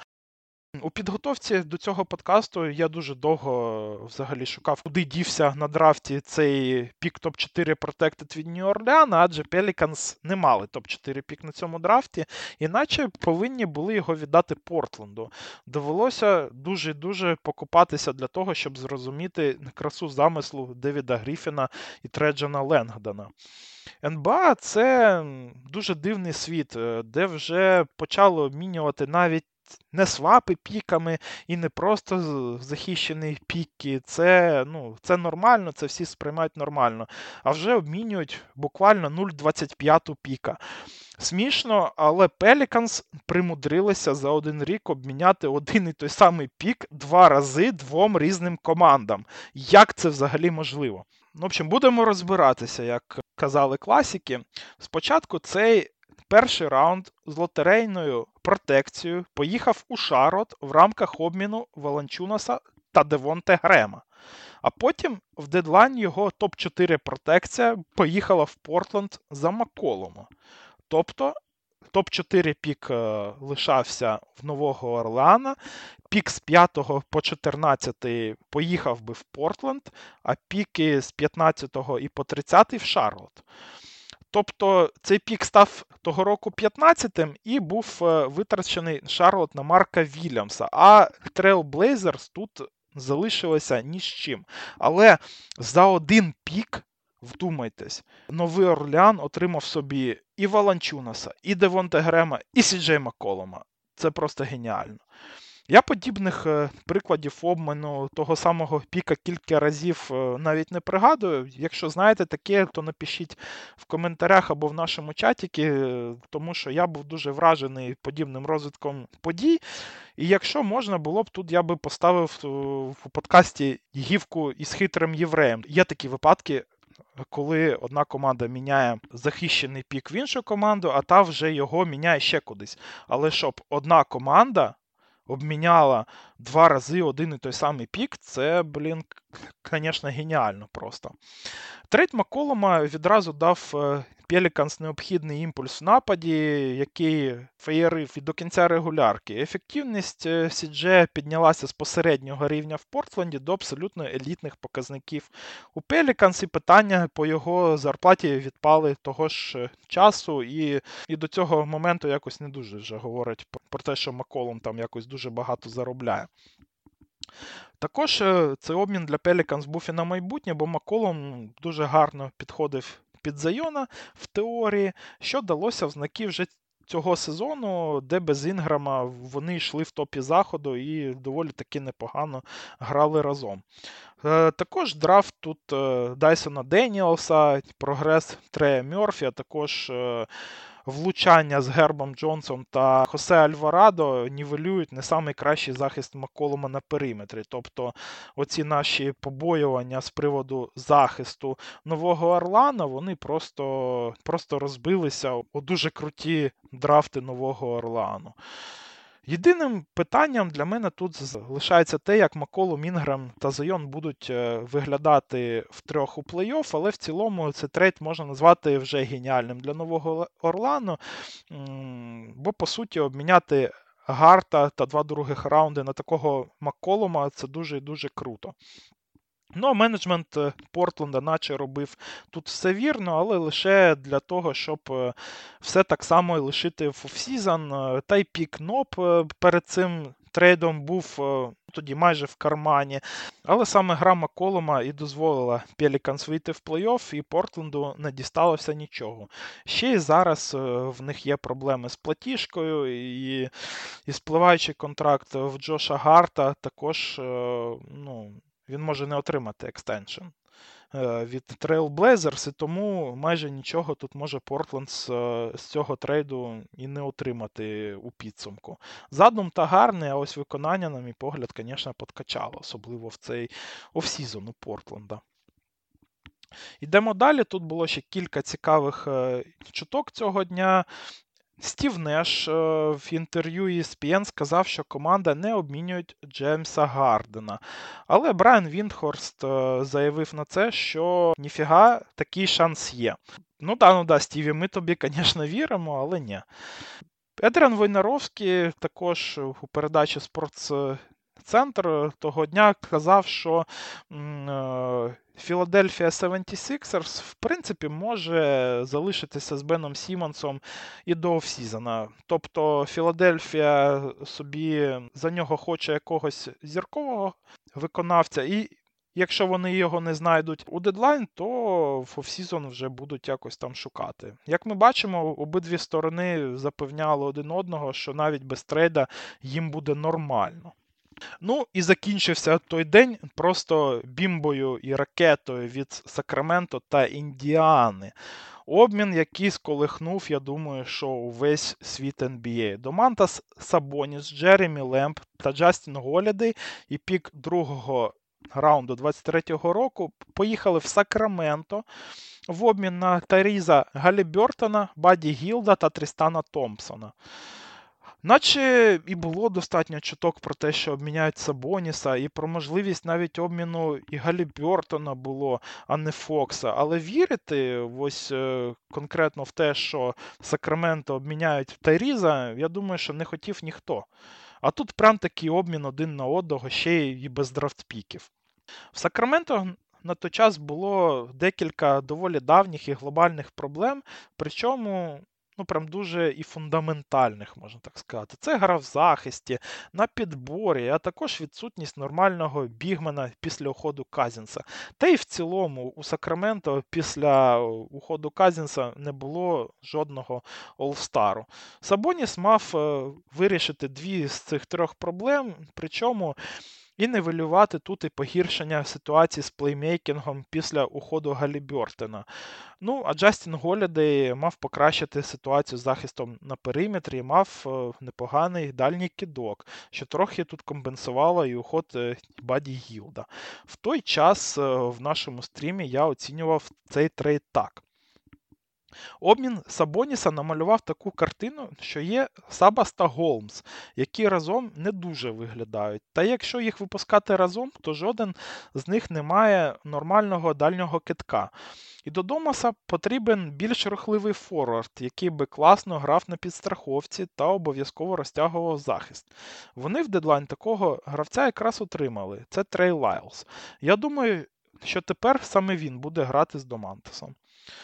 У підготовці до цього подкасту я дуже довго взагалі шукав, куди дівся на драфті цей пік топ-4 Protected від Нью-Орлеана, адже Pelicans не мали топ-4 пік на цьому драфті, іначе повинні були його віддати Портленду. Довелося дуже покупатися для того, щоб зрозуміти красу замислу Девіда Гріфіна і Треджана Ленгдона. НБА – це дуже дивний світ, де вже почали обмінювати навіть не свапи піками і не просто захищені піки. Це нормально, це всі сприймають нормально. А вже обмінюють буквально 0,25 піка. Смішно, але Pelicans примудрилися за один рік обміняти один і той самий пік 2 рази 2 різним командам. Як це взагалі можливо? В общем, будемо розбиратися, як казали класики. Спочатку цей перший раунд з лотерейною протекцією поїхав у Шарлотт в рамках обміну Валанчунаса та Девонте Грема. А потім в дедлайн його топ-4 протекція поїхала в Портленд за Макколума. Тобто топ-4 пік лишався в Нового Орлеана, пік з 5 по 14 поїхав би в Портленд, а піки з 15 і по 30 в Шарлотт. Тобто цей пік став того року 15-тим і був витрачений Шарлотт на Марка Вільямса, а Trail Blazers тут залишилися ні з чим. Але за один пік, вдумайтесь, Новий Орлеан отримав собі і Валанчунаса, і Девонте Грема, і Сі-Джей Макколума. Це просто геніально. Я подібних прикладів обміну того самого піка кілька разів навіть не пригадую. Якщо знаєте таке, то напишіть в коментарях або в нашому чаті, тому що я був дуже вражений подібним розвитком подій. І якщо можна було б, тут я би поставив у подкасті гівку із хитрим євреєм. Є такі випадки, коли одна команда міняє захищений пік в іншу команду, а та вже його міняє ще кудись. Але щоб одна команда обміняла 2 рази один і той самий пік, це, звісно, геніально просто. Трейд Макколума відразу дав Pelicans необхідний імпульс в нападі, який феєрив і до кінця регулярки. Ефективність Сі-Джея піднялася з посереднього рівня в Портленді до абсолютно елітних показників у Pelicans, і питання по його зарплаті відпали того ж часу, і до цього моменту якось не дуже вже говорять про те, що Макколум там якось дуже багато заробляє. Також цей обмін для Pelicans був і на майбутнє, бо Макколум дуже гарно підходив під Зайона в теорії, що далося в знаки вже цього сезону, де без Інграма вони йшли в топі заходу і доволі таки непогано грали разом. Також драфт тут Дайсона Деніелса, прогрес Трея Мерфі, а також влучання з Гербом Джонсом та Хосе Альварадо нівелюють не самий кращий захист Макколума на периметрі. Тобто оці наші побоювання з приводу захисту Нового Орлеана, вони просто розбилися у дуже круті драфти Нового Орлеану. Єдиним питанням для мене тут залишається те, як Макколум, Інгрем та Зайон будуть виглядати втрьох у плей-офф, але в цілому цей трейд можна назвати вже геніальним для Нового Орлану, бо, по суті, обміняти Гарта та 2 других раунди на такого Макколума – це дуже і дуже круто. Ну, а менеджмент Портленда наче робив тут все вірно, але лише для того, щоб все так само і лишити в офсізон. Та й пік Ноб перед цим трейдом був тоді майже в кармані. Але саме гра Макколума і дозволила Пеліканс вийти в плей-офф, і Портленду не дісталося нічого. Ще й зараз в них є проблеми з платіжкою, і спливаючий контракт в Джоша Гарта також, він може не отримати екстеншн від Trail Blazers, і тому майже нічого тут може Портленд з цього трейду і не отримати у підсумку. Задум та гарний, а ось виконання, на мій погляд, звісно, подкачало, особливо в цей офсізон у Портленда. Йдемо далі, тут було ще кілька цікавих чуток цього дня. Стів Неш в інтерв'ю ESPN сказав, що команда не обмінює Джеймса Гардена. Але Брайан Віндхорст заявив на це, що ніфіга, такий шанс є. Ну да, Стіві, ми тобі, звісно, віримо, але ні. Едріан Войнаровський також у передачі «Спортцентр» того дня казав, що Philadelphia 76ers, в принципі, може залишитися з Беном Сіммонсом і до офсізона. Тобто Філадельфія собі за нього хоче якогось зіркового виконавця, і якщо вони його не знайдуть у дедлайн, то в офсізон вже будуть якось там шукати. Як ми бачимо, обидві сторони запевняли один одного, що навіть без трейда їм буде нормально. Ну і закінчився той день просто бімбою і ракетою від Сакраменто та Індіани. Обмін, який сколихнув, я думаю, що увесь світ NBA. Домантас Сабоніс, Джеремі Лемб та Джастін Голідей і пік другого раунду 23-го року поїхали в Сакраменто в обмін на Тайріза Галібертона, Бадді Гілда та Трістана Томпсона. Наче і було достатньо чуток про те, що обміняють Сабоніса, і про можливість навіть обміну і Галібертона було, а не Фокса. Але вірити ось конкретно в те, що Сакраменто обміняють Тайріза, я думаю, що не хотів ніхто. А тут прям такий обмін один на одного, ще й без драфтпіків. В Сакраменто на той час було декілька доволі давніх і глобальних проблем, причому прям дуже і фундаментальних, можна так сказати. Це гра в захисті, на підборі, а також відсутність нормального бігмена після уходу Казінса. Та й в цілому у Сакраменто після уходу Казінса не було жодного All-Стару. Сабоніс мав вирішити 2 з цих 3 проблем, причому і нивелювати тут і погіршення ситуації з плеймейкінгом після уходу Галібертона. Ну, а Джастін Голідей мав покращити ситуацію з захистом на периметрі і мав непоганий дальній кидок, що трохи тут компенсувало і уход Бадді Гілда. В той час в нашому стрімі я оцінював цей трейд так. Обмін Сабоніса намалював таку картину, що є Сабас та Голмс, які разом не дуже виглядають. Та якщо їх випускати разом, то жоден з них не має нормального дальнього кидка. І до Домаса потрібен більш рухливий форвард, який би класно грав на підстраховці та обов'язково розтягував захист. Вони в дедлайн такого гравця якраз отримали. Це Трей Лайлс. Я думаю, що тепер саме він буде грати з Домантасом.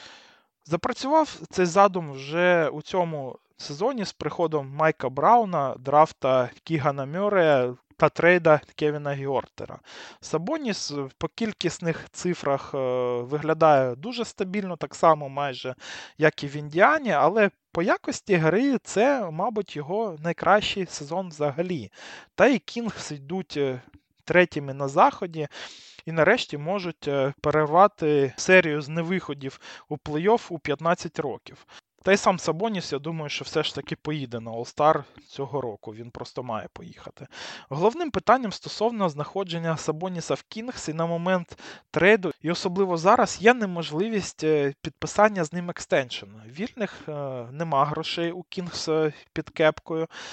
Запрацював цей задум вже у цьому сезоні з приходом Майка Брауна, драфта Кігана Мюррея та трейда Кевіна Гьортера. Сабоніс по кількісних цифрах виглядає дуже стабільно, так само майже, як і в Індіані, але по якості гри це, мабуть, його найкращий сезон взагалі. Та і Кінгс йдуть третіми на заході. І нарешті можуть перервати серію з невиходів у плей-офф у 15 років. Та й сам Сабоніс, я думаю, що все ж таки поїде на All-Star цього року, він просто має поїхати. Головним питанням стосовно знаходження Сабоніса в Кінгсі на момент трейду, і особливо зараз, є неможливість підписання з ним екстеншн. Вільних нема грошей у Кінгс під кепкою.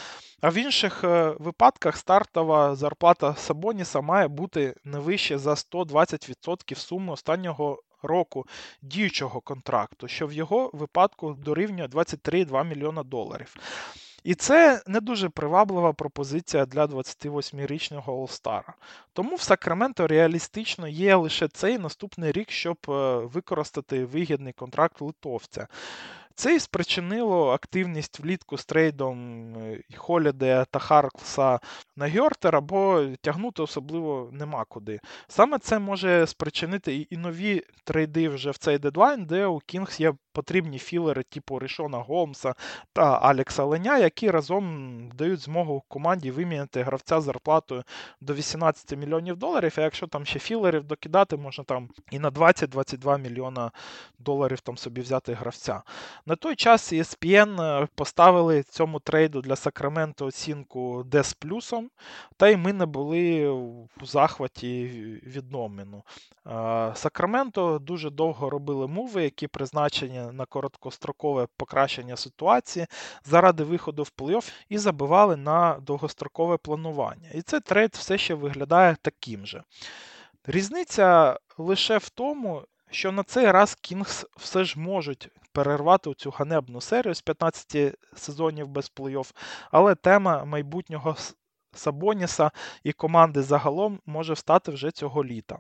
А в інших випадках стартова зарплата Сабоніса має бути не вище за 120% суми останнього року діючого контракту, що в його випадку дорівнює 23,2 мільйона доларів. І це не дуже приваблива пропозиція для 28-річного All-Star. Тому в Сакраменто реалістично є лише цей наступний рік, щоб використати вигідний контракт литовця. Це і спричинило активність влітку з трейдом Холідея та Харклса на Гьортера, бо тягнути особливо нема куди. Саме це може спричинити і нові трейди вже в цей дедлайн, де у Кінгс є потрібні філери типу Рішона Голмса та Алекса Леня, які разом дають змогу команді виміняти гравця з зарплатою до 18 мільйонів доларів, а якщо там ще філерів докидати, можна там і на 20-22 мільйона доларів там собі взяти гравця. На той час ESPN поставили цьому трейду для Сакраменто оцінку D з плюсом, та й ми не були у захваті від номіну. Сакраменто дуже довго робили муви, які призначені на короткострокове покращення ситуації заради виходу в плей-офф і забивали на довгострокове планування. І цей трейд все ще виглядає таким же. Різниця лише в тому, що на цей раз Кінгс все ж можуть перервати цю ганебну серію з 15 сезонів без плей-офф, але тема майбутнього Сабоніса і команди загалом може встати вже цього літа.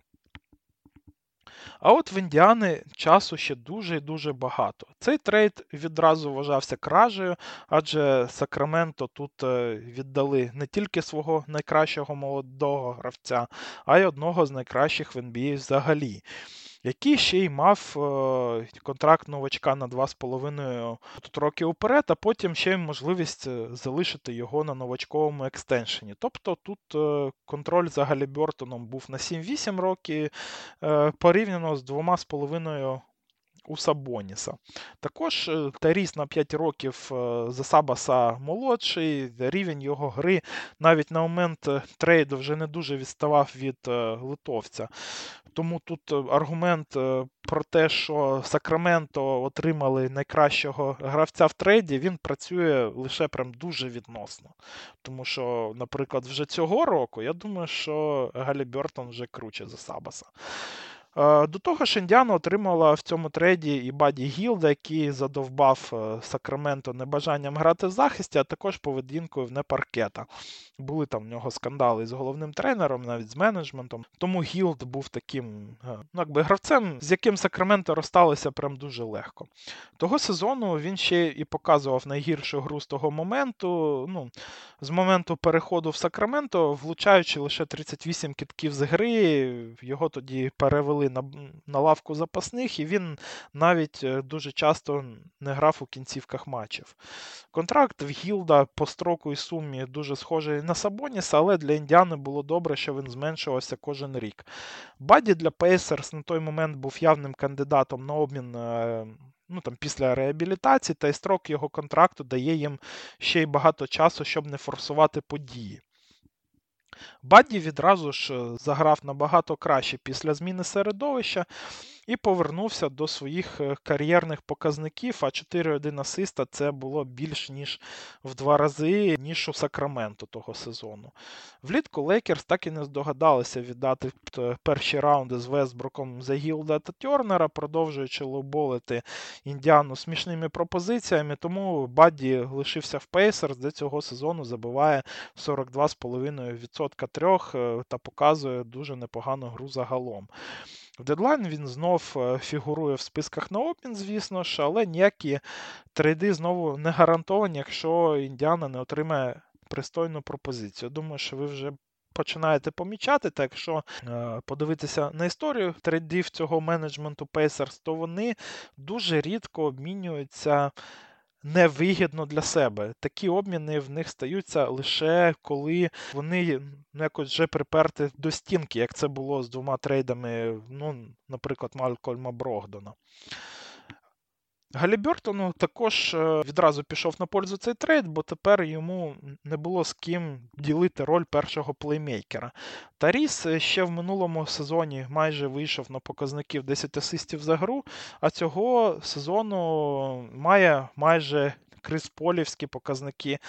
А от в Індіани часу ще дуже і дуже багато. Цей трейд відразу вважався кражею, адже Сакраменто тут віддали не тільки свого найкращого молодого гравця, а й одного з найкращих в NBA взагалі, який ще й мав контракт новачка на 2,5 роки вперед, а потім ще й можливість залишити його на новачковому екстеншені. Тобто тут контроль за Галібертоном був на 7-8 років, порівняно з 2,5 у Сабоніса. Також Таріс на 5 років за Сабаса молодший, рівень його гри навіть на момент трейду вже не дуже відставав від литовця. Тому тут аргумент про те, що Сакраменто отримали найкращого гравця в трейді, він працює лише прям дуже відносно. Тому що, наприклад, вже цього року, я думаю, що Галібертон вже круче за Сабаса. До того ж, Індіана отримала в цьому трейді і Бадді Гілда, який задовбав Сакраменто небажанням грати в захисті, а також поведінкою вне паркета. Були там в нього скандали з головним тренером, навіть з менеджментом. Тому Гілд був таким гравцем, з яким Сакраменто розсталися прям дуже легко. Того сезону він ще і показував найгіршу гру з того моменту, з моменту переходу в Сакраменто, влучаючи лише 38 кидків з гри, його тоді перевели на лавку запасних, і він навіть дуже часто не грав у кінцівках матчів. Контракт в Гілда по строку і сумі дуже схожий на Сабоніса, але для Індіани було добре, що він зменшувався кожен рік. Бадді для Пейсерс на той момент був явним кандидатом на обмін після реабілітації, та й строк його контракту дає їм ще й багато часу, щоб не форсувати події. Бадді відразу ж заграв набагато краще після зміни середовища і повернувся до своїх кар'єрних показників, а 4,1 асиста це було більш ніж в 2 рази, ніж у Сакраменто того сезону. Влітку Лейкерс так і не здогадалися віддати перші раунди з Вестбруком за Гілда та Тернера, продовжуючи лоуболити Індіану смішними пропозиціями, тому Бадді лишився в Пейсерс, де цього сезону забиває 42,5% трьох та показує дуже непогану гру загалом. В дедлайн він знов фігурує в списках на обмін, звісно ж, але ніякі трейди знову не гарантовані, якщо Індіана не отримає пристойну пропозицію. Думаю, що ви вже починаєте помічати, та якщо подивитися на історію трейдів цього менеджменту Pacers, то вони дуже рідко обмінюються невигідно для себе. Такі обміни в них стаються лише коли вони якось вже приперти до стінки, як це було з 2 трейдами, наприклад, Малькольма Брогдона. Галібертону також відразу пішов на пользу цей трейд, бо тепер йому не було з ким ділити роль першого плеймейкера. Таріс ще в минулому сезоні майже вийшов на показників 10 асистів за гру, а цього сезону має майже крисполівські показники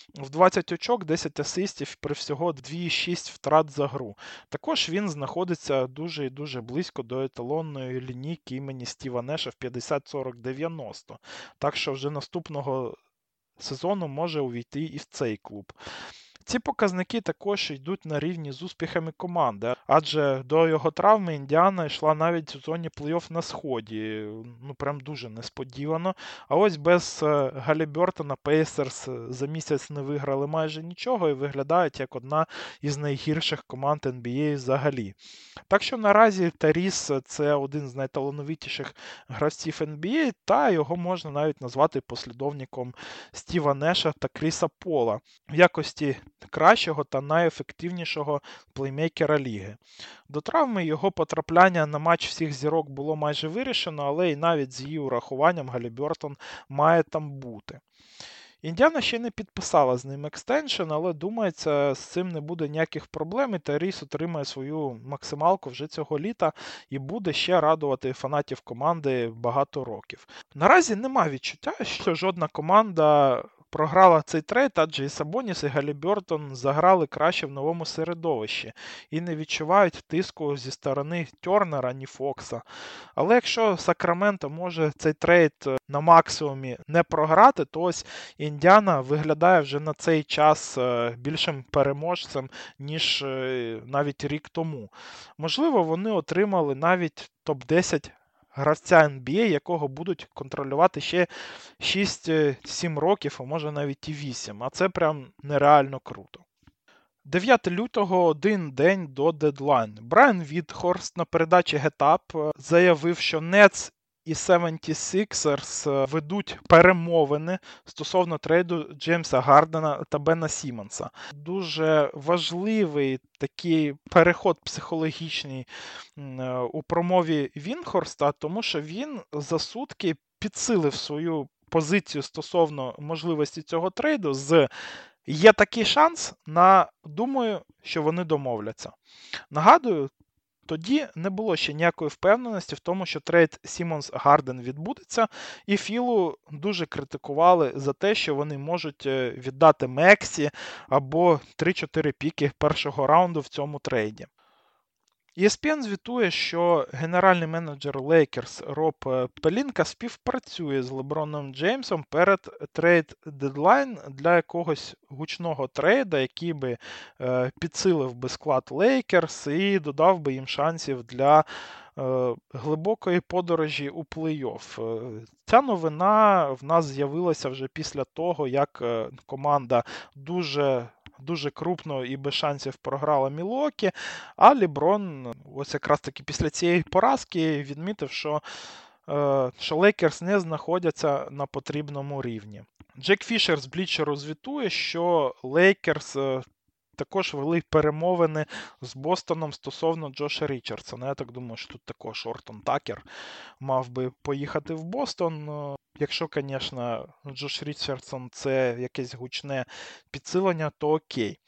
в 20 очок, 10 асистів при всього 2,6 втрат за гру. Також він знаходиться дуже і дуже близько до еталонної лінійки імені Стіва Неша в 50-40-90. Так що вже наступного сезону може увійти і в цей клуб. Ці показники також йдуть на рівні з успіхами команди, адже до його травми Індіана йшла навіть у зоні плей-офф на сході. Прям дуже несподівано. А ось без Галібертона Пейсерс за місяць не виграли майже нічого і виглядають як одна із найгірших команд NBA взагалі. Так що наразі Таріс – це один з найталановитіших гравців NBA, та його можна навіть назвати послідовником Стіва Неша та Кріса Пола в якості кращого та найефективнішого плеймейкера ліги. До травми його потрапляння на матч всіх зірок було майже вирішено, але і навіть з її урахуванням Галібертон має там бути. Індіана ще не підписала з ним екстеншн, але думається, з цим не буде ніяких проблем, і Таріс отримає свою максималку вже цього літа і буде ще радувати фанатів команди багато років. Наразі нема відчуття, що жодна команда програла цей трейд, адже і Сабоніс, і Галібертон заграли краще в новому середовищі і не відчувають тиску зі сторони Тернера, ні Фокса. Але якщо Сакраменто може цей трейд на максимумі не програти, то ось Індіана виглядає вже на цей час більшим переможцем, ніж навіть рік тому. Можливо, вони отримали навіть топ-10 гравця NBA, якого будуть контролювати ще 6-7 років, а може навіть і 8. А це прям нереально круто. 9 лютого, один день до дедлайну. Брайан Вітхорст на передачі Get Up заявив, що Nets і 76ers ведуть перемовини стосовно трейду Джеймса Гардена та Бена Сіммонса. Дуже важливий такий переход психологічний у промові Вінхорста, тому що він за сутки підсилив свою позицію стосовно можливості цього трейду з «є такий шанс» на «думаю, що вони домовляться». Нагадую, тоді не було ще ніякої впевненості в тому, що трейд Сіммонс-Гарден відбудеться, і Філу дуже критикували за те, що вони можуть віддати Мексі або 3-4 піки першого раунду в цьому трейді. ESPN звітує, що генеральний менеджер Лейкерс Роб Пелінка співпрацює з Леброном Джеймсом перед трейд-дедлайн для якогось гучного трейда, який би підсилив би склад Лейкерс і додав би їм шансів для глибокої подорожі у плей-офф. Ця новина в нас з'явилася вже після того, як команда дуже крупно і без шансів програла Мілуокі, а Леброн ось якраз таки після цієї поразки відмітив, що Лейкерс не знаходяться на потрібному рівні. Джек Фішер з Блічеру звітує, що Лейкерс також вели перемовини з Бостоном стосовно Джоша Річардсона. Я так думаю, що тут також Ортон Такер мав би поїхати в Бостон. Якщо, звісно, Джош Річардсон – це якесь гучне підсилення, то окей.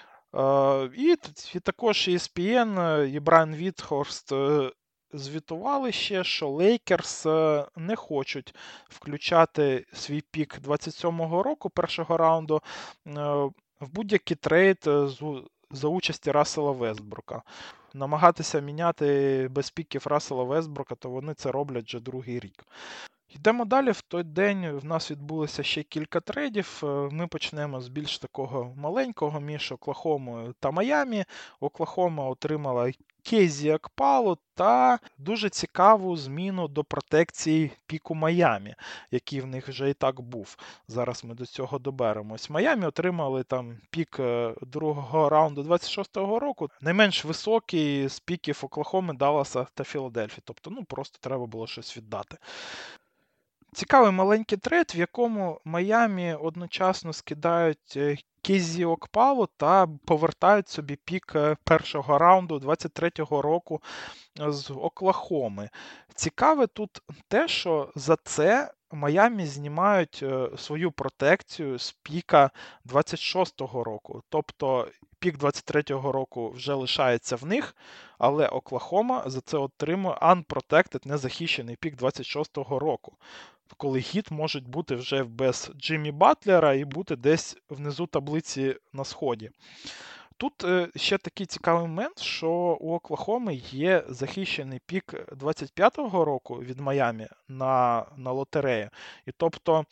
І також ESPN і Брайан Вітхорст звітували ще, що Лейкерс не хочуть включати свій пік 27-го року, першого раунду, в будь-який трейд за участі Рассела Вестбрука. Намагатися міняти без піків Рассела Вестбрука, то вони це роблять вже другий рік. Йдемо далі. В той день в нас відбулося ще кілька трейдів. Ми почнемо з більш такого маленького між Оклахомою та Майамі. Оклахома отримала Кейзі Окпалу та дуже цікаву зміну до протекції піку Майамі, який в них вже і так був. Зараз ми до цього доберемось. Майамі отримали там пік другого раунду 26-го року, найменш високий з піків Оклахоми, Далласа та Філадельфії. Тобто, просто треба було щось віддати. Цікавий маленький трейд, в якому Майамі одночасно скидають Кейзі Окпалу та повертають собі пік першого раунду 23-го року з Оклахоми. Цікаве тут те, що за це Майамі знімають свою протекцію з піка 26-го року. Тобто пік 23-го року вже лишається в них, але Оклахома за це отримує unprotected, незахищений пік 26-го року, коли Хіт можуть бути вже без Джиммі Батлера і бути десь внизу таблиці на сході. Тут ще такий цікавий момент, що у Оклахоми є захищений пік 25-го року від Майамі на лотерею. І тобто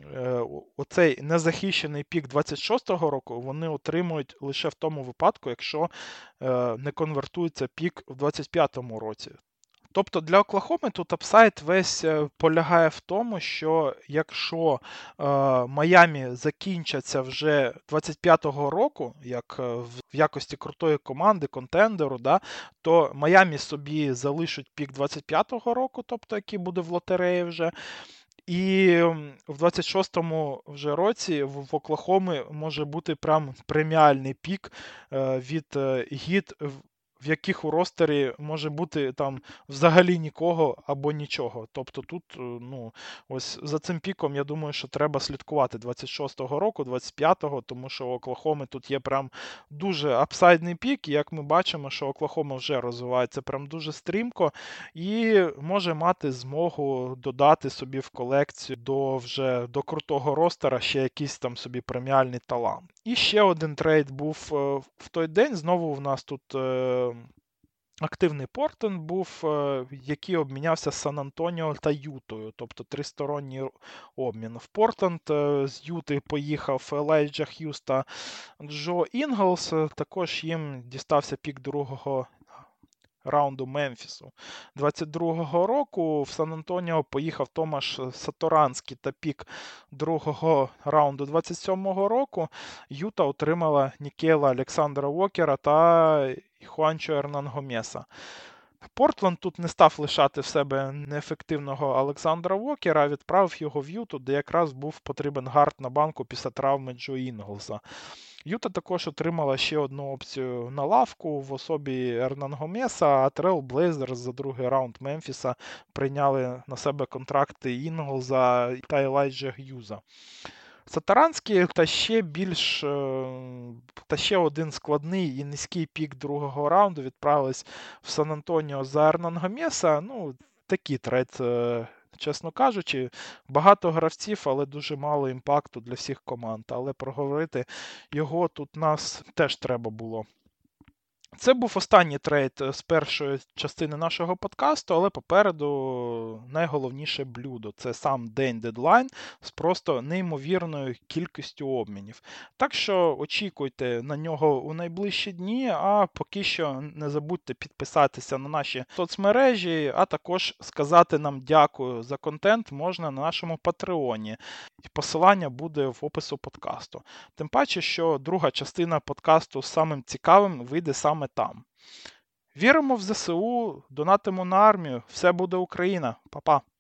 оцей незахищений пік 26-го року вони отримують лише в тому випадку, якщо не конвертується пік в 25-му році. Тобто для Оклахоми тут апсайд весь полягає в тому, що якщо Майамі закінчаться вже 25-го року, як в якості крутої команди, контендеру, да, то Майамі собі залишать пік 25-го року, тобто який буде в лотереї вже. І в 26-му вже році в Оклахоми може бути прям преміальний пік від Гіт, в яких у ростері може бути там взагалі нікого або нічого. Тобто тут, ось за цим піком, я думаю, що треба слідкувати 26-го року, 25-го, тому що у Оклахоми тут є прям дуже апсайдний пік, і як ми бачимо, що Оклахома вже розвивається прям дуже стрімко і може мати змогу додати собі в колекцію до крутого ростера ще якийсь там собі преміальний талант. І ще один трейд був в той день, знову в нас тут активний Портленд був, який обмінявся з Сан-Антоніо та Ютою, тобто тристоронній обмін. В Портленд з Юти поїхав Елайджа Х'юз та Джо Інглс, також їм дістався пік другого раунду Мемфісу. 22-го року в Сан-Антоніо поїхав Томаш Саторанський та пік другого раунду 27-го року. Юта отримала Нікейла Олександра Уокера та Хуанчо Ернан-Гомеса. Портленд тут не став лишати в себе неефективного Олександра Уокера, а відправив його в Юту, де якраз був потрібен гард на банку після травми Джо Інглса. Юта також отримала ще одну опцію на лавку в особі Ернан-Гомеса, а Трейл Блейзерс за другий раунд Мемфіса прийняли на себе контракти Інглза та Елайджа Х'юза. Сатаранський та ще один складний і низький пік другого раунду відправились в Сан-Антоніо за Ернан-Гомеса. Такий трейд, чесно кажучи, багато гравців, але дуже мало імпакту для всіх команд. Але проговорити його тут нас теж треба було. Це був останній трейд з першої частини нашого подкасту, але попереду найголовніше блюдо. Це сам день дедлайн з просто неймовірною кількістю обмінів. Так що очікуйте на нього у найближчі дні, а поки що не забудьте підписатися на наші соцмережі, а також сказати нам дякую за контент можна на нашому Патреоні. І посилання буде в опису подкасту. Тим паче, що друга частина подкасту з самим цікавим вийде саме там. Віримо в ЗСУ, донатимо на армію. Все буде Україна. Па-па.